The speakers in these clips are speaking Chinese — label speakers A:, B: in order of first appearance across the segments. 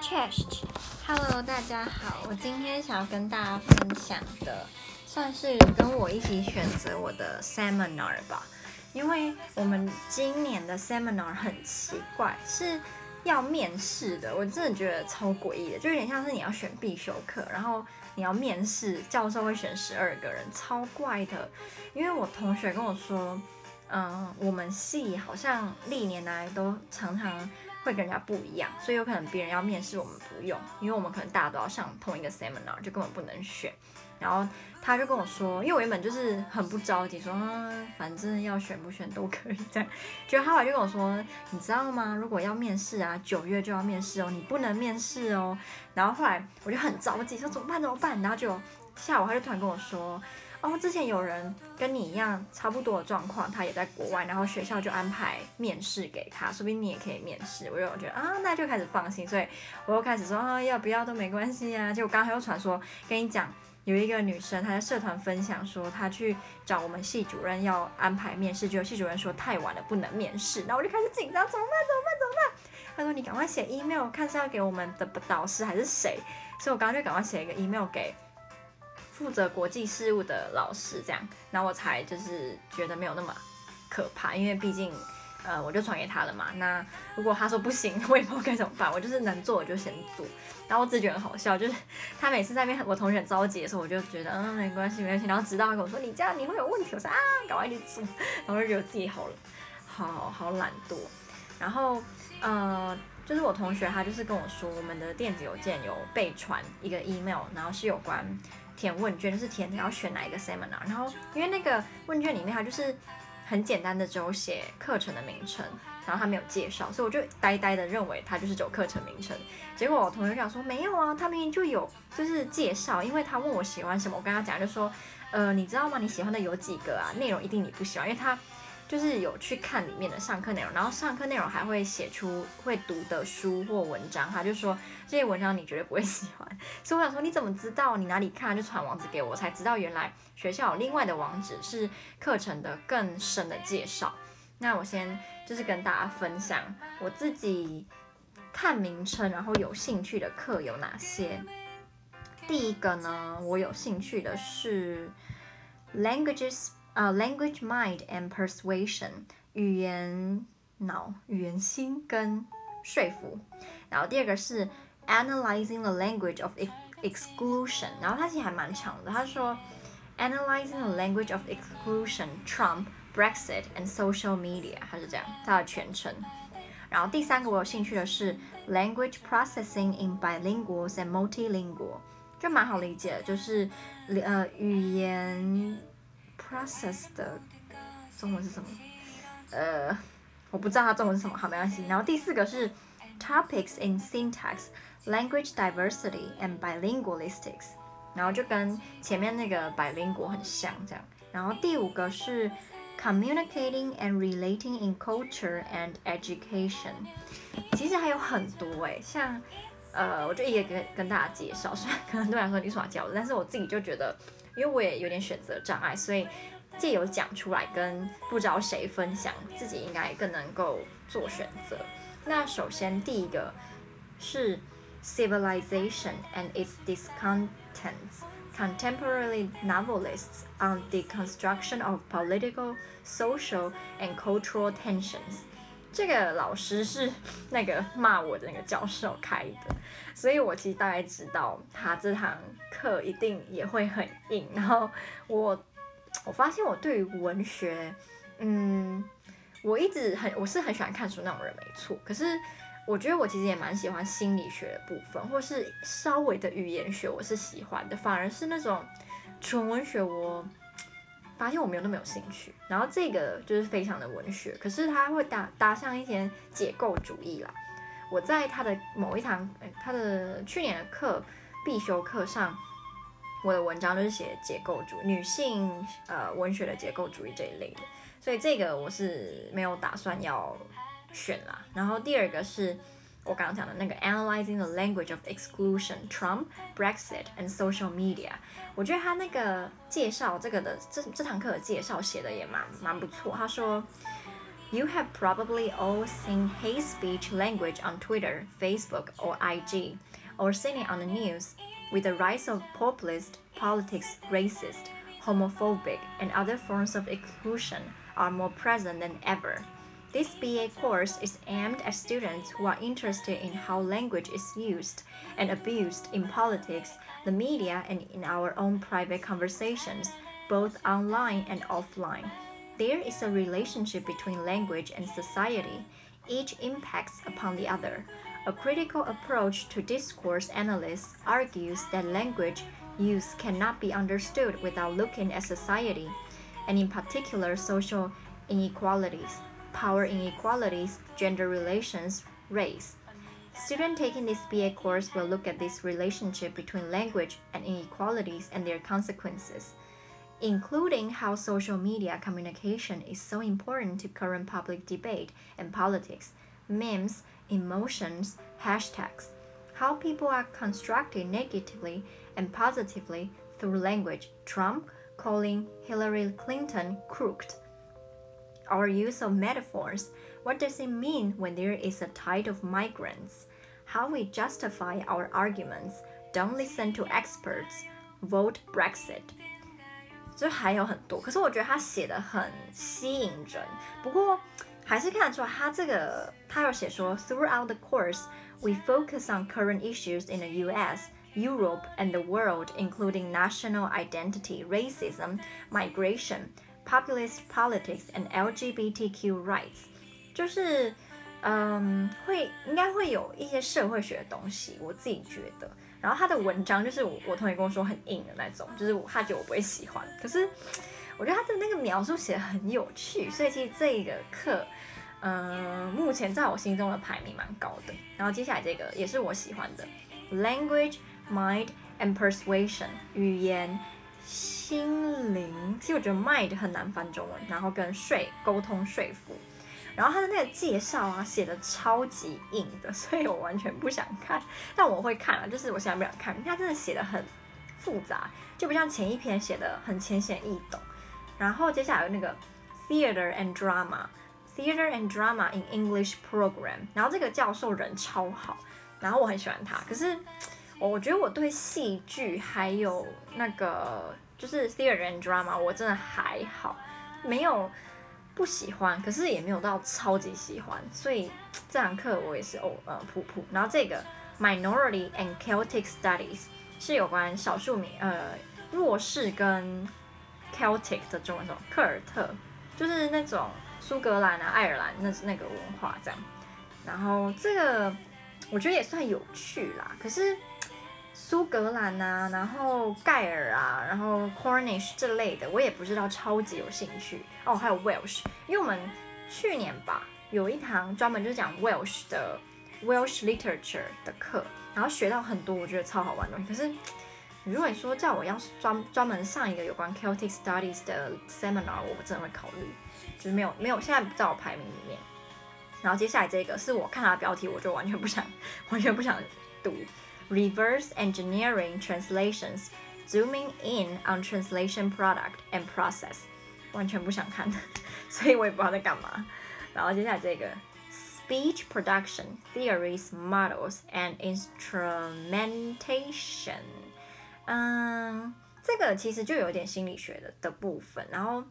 A: Podcast，Hello， 大家好，我今天想要跟大家分享的，算是跟我一起選擇我的 seminar 吧，因為我們今年的 seminar 很奇怪，是要面試的，我真的覺得超詭異的，就有點像是你要選必修課，然後你要面試，教授會選12個人，超怪的。因為我同學跟我說，我們系好像歷年來都常常會跟人家不一樣，所以有可能別人要面試我們不用，因為我們可能大家都要上同一個 seminar， 就根本不能選。然後他就跟我說，因為我原本就是很不着急，說反正要選不選都可以這樣。結果他後來就跟我說，你知道嗎？如果要面試啊，9月就要面試哦，你不能面試哦。然後後來我就很着急，說怎麼辦？然後就下午他就突然跟我說，之前有人跟你一樣差不多的狀況，他也在國外，然後學校就安排面試給他，說不定你也可以面試。我就覺得那就開始放心，所以我又開始說要不要都沒關係啊。結果剛才又傳說跟你講，有一個女生她在社團分享說，她去找我們系主任要安排面試，結果系主任說太晚了不能面試，然後我就開始緊張，怎麼辦？他說你趕快寫 email， 看是要給我們的導師還是誰，所以我剛剛就趕快寫一個 email 給負責國際事務的老師，這樣，然後我才就是覺得沒有那麼可怕，因為畢竟我就傳給他了嘛。那如果他說不行，我也不知道該怎麼辦，我就是能做我就先做。然後我自己覺得很好笑，就是他每次在那邊我同學很着急的時候，我就覺得沒關係。然後直到他跟我說你這樣你會有問題，我說趕快去做，然後就覺得自己好懶惰。然後就是我同學他就是跟我說，我們的電子郵件有被傳一個 email， 然後是有關填問卷，就是填你要選哪一個 seminar。然後因為那個問卷裡面它就是很簡單的只有寫課程的名稱，然後他沒有介紹，所以我就呆呆的認為它就是只有課程名稱。結果我同學講說沒有啊，他明明就有就是介紹，因為他問我喜歡什麼，我跟他講就說你知道嗎？你喜歡的有幾個啊？內容一定你不喜歡，因為他就是有去看裡面的上課內容，然後上課內容還會寫出會讀的書或文章，他就說這些文章你絕對不會喜歡。所以我想說你怎麼知道？你哪裡看？就傳網址給我，我才知道原來學校有另外的網址是課程的更深的介紹。那我先就是跟大家分享我自己看名稱然後有興趣的課有哪些。第一個呢，我有興趣的是 Language Mind and Persuasion， 語言腦、語言心跟說服。然後第二個是 Analyzing the Language of Exclusion， 然後它其實還蠻長的，他說 Analyzing the Language of Exclusion, Trump, Brexit and Social Media， 它是這樣，它的全稱。然後第三個我有興趣的是 Language Processing in Bilinguals and Multilingual， 就蠻好理解的，就是語言process 的中文是什麼？我不知道它中文是什麼，好，沒關係。然後第四個是 Topics in Syntax, Language Diversity and Bilingualistics， 然後就跟前面那個 bilingual 很像這樣。然後第五個是 Communicating and Relating in Culture and Education， 其實還有很多像我就一個跟大家介紹，雖然可能很多人說你是我教的，但是我自己就覺得。因為我也有點選擇障礙，所以藉由講出來跟不知道誰分享，自己應該更能夠做選擇。那首先第一個是 Civilization and its Discontents, Contemporary Novelists on the Construction of Political, Social and Cultural Tensions。這個老師是那個罵我的那個教授開的，所以我其實大概知道他這堂課一定也會很硬。然後我發現我對於文學，我是很喜歡看書那種人沒錯，可是我覺得我其實也蠻喜歡心理學的部分，或是稍微的語言學我是喜歡的，反而是那種純文學我發現我沒有那麼有興趣，然後這個就是非常的文学，可是它會搭上一些解構主義啦。我在他的某一堂，他的去年的必修課上，我的文章就是寫解構主義，女性文學的解構主義這一類的，所以這個我是沒有打算要選啦。然後第二個是我剛剛講的那個 Analyzing the Language of Exclusion, Trump, Brexit and Social Media， 我覺得他那個介紹這個的這堂課的介紹寫的也蠻不錯。他說 You have probably all seen hate speech language on Twitter, Facebook, or IG, or seen it on the news. With the rise of populist politics, racist, homophobic, and other forms of exclusion are more present than ever. This BA course is aimed at students who are interested in how language is used and abused in politics, the media, and in our own private conversations, both online and offline. There is a relationship between language and society. Each impacts upon the other. A critical approach to discourse analysis argues that language use cannot be understood without looking at society, and in particular social inequalities, power inequalities, gender relations, race. Students taking this BA course will look at this relationship between language and inequalities and their consequences, including how social media communication is so important to current public debate and politics, memes, emotions, hashtags, how people are constructed negatively and positively through language. Trump calling Hillary Clinton crooked. Our use of metaphors. What does it mean when there is a tide of migrants? How we justify our arguments. Don't listen to experts. Vote Brexit. 就还有很多，可是我觉得他写的很吸引人。不过还是看得出来，他有写说 ，Throughout the course, we focus on current issues in the U.S., Europe, and the world, including national identity, racism, migration, populist politics, and LGBTQ rights. 就是应该会有一些社会学的東西，我自己覺得。然後他的文章就是我同學跟我說很硬的那種，就是他覺得我不會喜歡。可是我覺得他的那個描述寫得很有趣，所以其實這個課，目前在我心中的排名蠻高的。然後接下來這個也是我喜歡的 ，Language, Mind and Persuasion 語言、心靈。其實我覺得 mind 很難翻中文，然後跟溝通說服。然後他的那個介紹啊，寫的超級硬的，所以我完全不想看，但我會看啊，就是我現在不想看，他真的寫的很複雜，就不像前一篇寫的很淺顯易懂。然後接下來有那個 Theater and Drama in English Program， 然後這個教授人超好，然後我很喜歡他，可是我覺得我對戲劇還有那個就是 Theater and Drama 我真的還好，沒有不喜歡，可是也沒有到超級喜歡，所以這堂課我也是普普。然後這個 Minority and Celtic Studies 是有關少數民弱勢跟 Celtic 的中文，科爾特就是那種蘇格蘭啊、愛爾蘭那個文化這樣。然後這個我覺得也算有趣啦，可是蘇格蘭啊，然後蓋爾啊，然後 Cornish 這類的，我也不知道超級有興趣哦。還有 Welsh， 因為我們去年吧有一堂專門就是講 Welsh 的 Welsh Literature 的課，然後學到很多我覺得超好玩的東西。可是如果你說叫我要專門上一個有關 Celtic Studies 的 Seminar， 我真的會考慮，就是沒有現在不在我排名裡面。然後接下來這個是我看它的標題我就完全不想讀。Reverse engineering translations, zooming in on translation product and process， 完全不想看，所以我也不知道在幹嘛。然後接下來這個 Speech production, theories, models, and instrumentation， 這個其實就有點心理學的部分，然後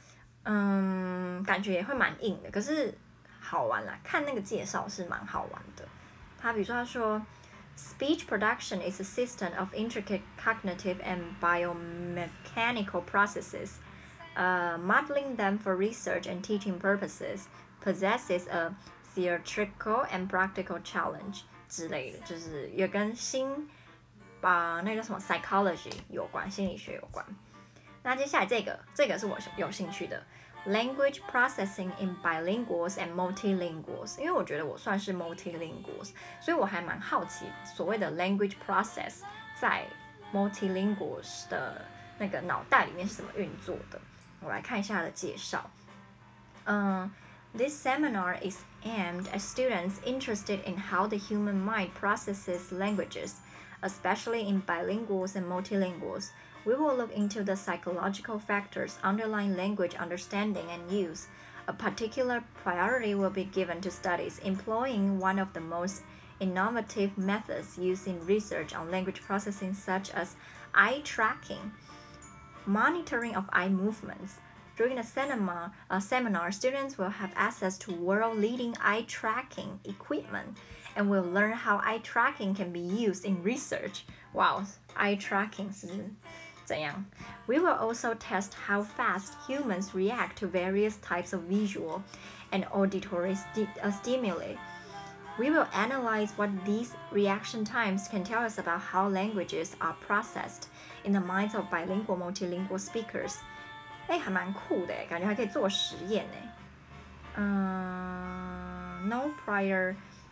A: 感覺也會蠻硬的，可是好玩啦，看那個介紹是蠻好玩的。比如說他說Speech production is a system of intricate cognitive and biomechanical processes. Modeling them for research and teaching purposes possesses a theatrical and practical challenge 之類的，就是也跟那個叫什麼 psychology 有關，心理學有關。那接下來這個是我有興趣的。Language processing in bilinguals and multilinguals， 因為我覺得我算是 multilinguals， 所以我還蠻好奇所謂的 language process 在 multilinguals 的那個腦袋裡面是怎麼運作的。我來看一下它的介紹。This seminar is aimed at students interested in how the human mind processes languages, especially in bilinguals and multilinguals.We will look into the psychological factors underlying language understanding and use, A particular priority will be given to studies employing one of the most innovative methods used in research on language processing, such as eye tracking, monitoring of eye movements. During the seminar, students will have access to world-leading eye tracking equipment and will learn how eye tracking can be used in research. Wow, eye tracking 是怎樣? We will also test how fast humans react to various types of visual and auditory stimuli. We will analyze what these reaction times can tell us about how languages are processed in the minds of bilingual, multilingual speakers. 還蠻酷的，感覺還可以做實驗呢。No prior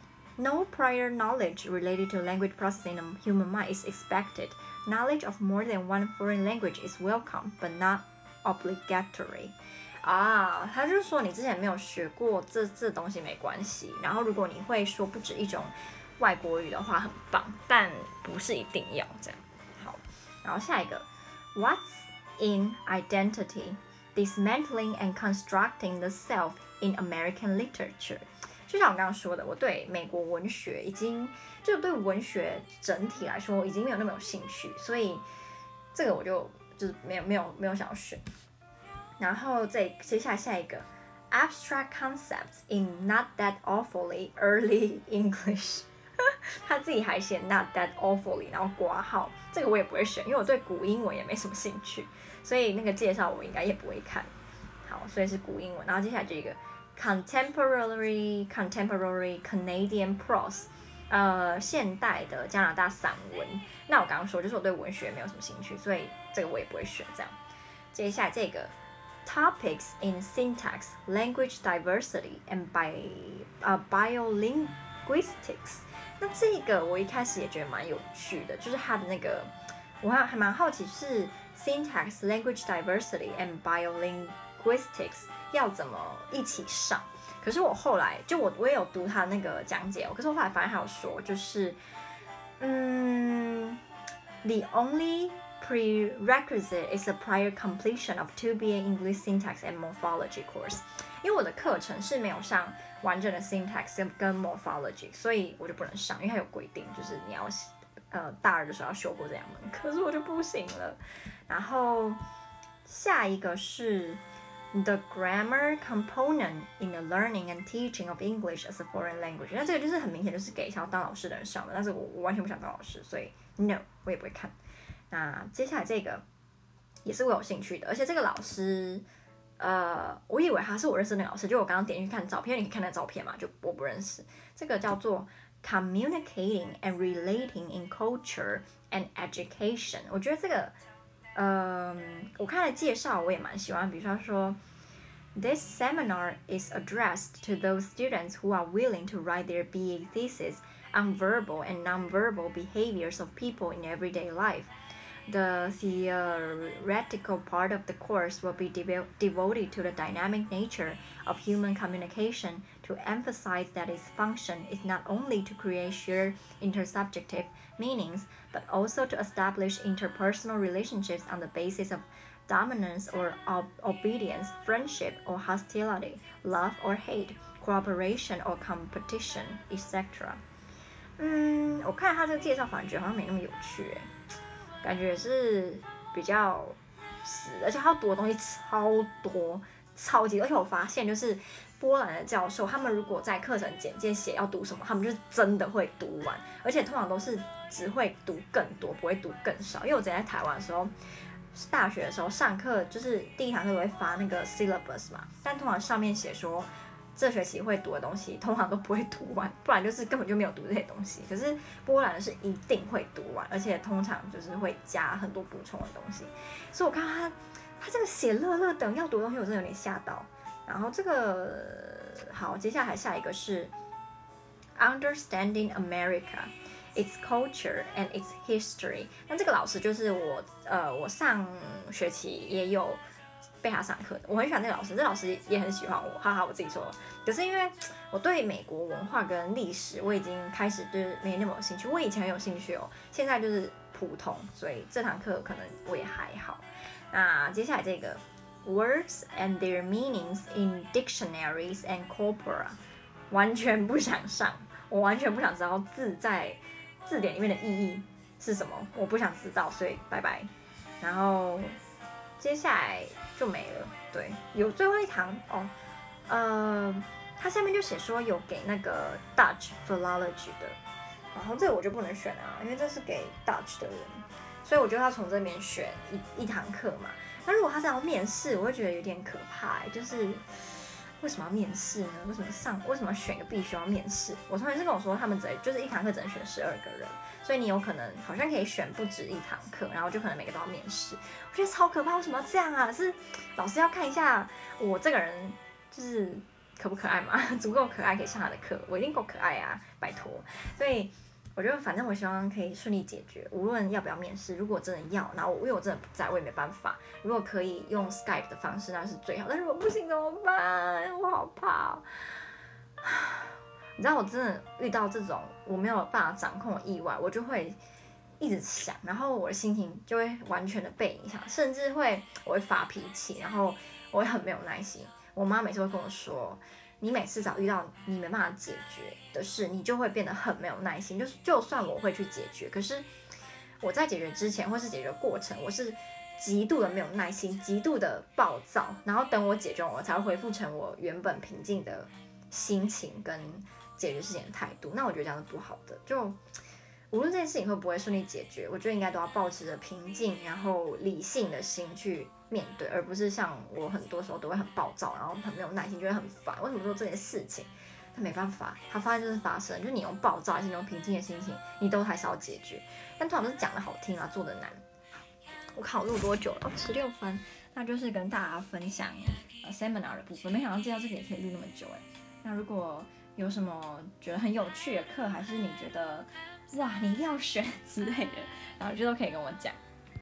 A: knowledge related to language processing in the human mind is expected. Knowledge of more than one foreign language is welcome, but not obligatory. 他就是說你之前沒有學過這東西沒關係，然後如果你會說不止一種外國語的話很棒，但不是一定要這樣。好，然後下一個 What's in identity? Dismantling and constructing the self in American literature. 就像我剛剛說的，我對美國文學就對文學整體來說已經沒有那麼有興趣，所以這個我就是沒有想要選。然後接下來下一個 abstract concepts in not that awfully early English 他自己還寫 not that awfully 然後括號，這個我也不會選，因為我對古英文也沒什麼興趣，所以那個介紹我應該也不會看。好，所以是古英文。然後接下來這個 contemporary Canadian prose 現代的加拿大散文。那我剛剛說就是我對文學沒有什麼興趣，所以這個我也不會選這樣。接下來這個Topics in syntax, language diversity, and biolinguistics. 那這個我一開始也覺得蠻有趣的，就是它的那個，我還蠻好奇是 syntax, language diversity, and biolinguistics 要怎麼一起上。可是我後來就我也有讀它那個講解，可是我後來發現還有說，就是the only prerequisite is a prior completion of 2BA English syntax and morphology course. 因為我的課程是沒有上完整的 syntax 跟 morphology， 所以我就不能上，因為它有規定，就是你要大二的時候要修過這兩門，可是我就不行了。然後下一個是 the grammar component in the learning and teaching of English as a foreign language。那这個就是很明顯就是給想要當老師的人上的，但是我完全不想當老師，所以 no 我也不會看。那接下來這個也是我有興趣的，而且這個老師，我以為他是我認識的那個老師，就我剛剛點進去看照片，你可以看那照片嘛，就我不認識。這個叫做 Communicating and Relating in Culture and Education。我覺得這個，我看了介紹我也蠻喜歡，比如說 This seminar is addressed to those students who are willing to write their BA thesis on verbal and nonverbal behaviors of people in everyday life.The theoretical part of the course will be devoted to the dynamic nature of human communication to emphasize that its function is not only to create shared intersubjective meanings, but also to establish interpersonal relationships on the basis of dominance or obedience, friendship or hostility, love or hate, cooperation or competition, etc. 我看他這個介紹反而覺得好像沒那麼有趣耶。感覺是比較死，而且他要讀的東西超多，超級，而且我發現就是波蘭的教授，他們如果在課程簡介寫要讀什麼，他們就是真的會讀完，而且通常都是只會讀更多，不會讀更少。因為我之前在台灣的時候，大學的時候上課就是第一堂課都會發那個 syllabus 嘛，但通常上面寫說這學期會讀的東西通常都不會讀完，不然就是根本就沒有讀這些東西。可是波蘭的是一定會讀完，而且通常就是會加很多補充的東西。所以我看他這個寫樂樂等要讀的東西，我真的有點嚇到。然後這個好，接下來下一個是 Understanding America, its culture and its history。那這個老師就是我上學期也有被他上課的，我很喜歡這個老師，這個老師也很喜歡我，哈哈，我自己說。可是因為我對美國文化跟歷史我已經開始就是沒那麼有興趣，我以前很有興趣哦，現在就是普通，所以這堂課可能我也還好。那接下來這個 words and their meanings in dictionaries and corpora。完全不想上，我完全不想知道字在字典裡面的意義是什麼，我不想知道，所以拜拜。然後接下來就沒了。對，有最後一堂哦，它下面就寫說有給那個 Dutch Philology 的，然後這個我就不能選啊，因為這是給 Dutch 的人，所以我就要從這邊選一堂課嘛。那如果他是要面試，我會覺得有點可怕，就是為什麼要面試呢？為什麼選個必須要面試？我同學是跟我說，他們就是一堂課只能選12個人，所以你有可能好像可以選不止一堂課，然後就可能每個都要面試。我覺得超可怕，為什麼要這樣啊？是老師要看一下我這個人就是可不可愛嘛？足夠可愛可以上他的課，我一定夠可愛啊，拜託。所以我覺得反正我希望可以順利解決，無論要不要面試。如果真的要，然後因為我真的不在，我也沒辦法。如果可以用 Skype 的方式，那是最好。但如果不行怎麼辦？我好怕哦。你知道我真的遇到這種我沒有辦法掌控的意外，我就會一直想，然後我的心情就會完全的被影響，甚至我會發脾氣，然後我會很沒有耐心。我媽每次會跟我說，你每次只要遇到你沒辦法解決的事，你就會變得很沒有耐心。就算我會去解決，可是我在解決之前或是解決過程，我是極度的沒有耐心，極度的暴躁，然後等我解決完，我才會恢復成我原本平靜的心情跟解決事情的態度。那我覺得這樣是不好的。就無論這件事情會不會順利解決，我覺得應該都要保持着平靜然後理性的心去面對，而不是像我很多時候都會很暴躁，然後很沒有耐心，就會很煩。為什麼說這件事情？但沒辦法，它發生就是發生，就你用暴躁還是你用平靜的心情，你都還是要解決。但通常都是講的好聽啊，做的難。我考錄多久了？16分。那就是跟大家分享seminar 的部分。沒想到這個也可以錄那麼久哎。那如果有什麼覺得很有趣的課，還是你覺得哇你一定要選之類的，然後就都可以跟我講。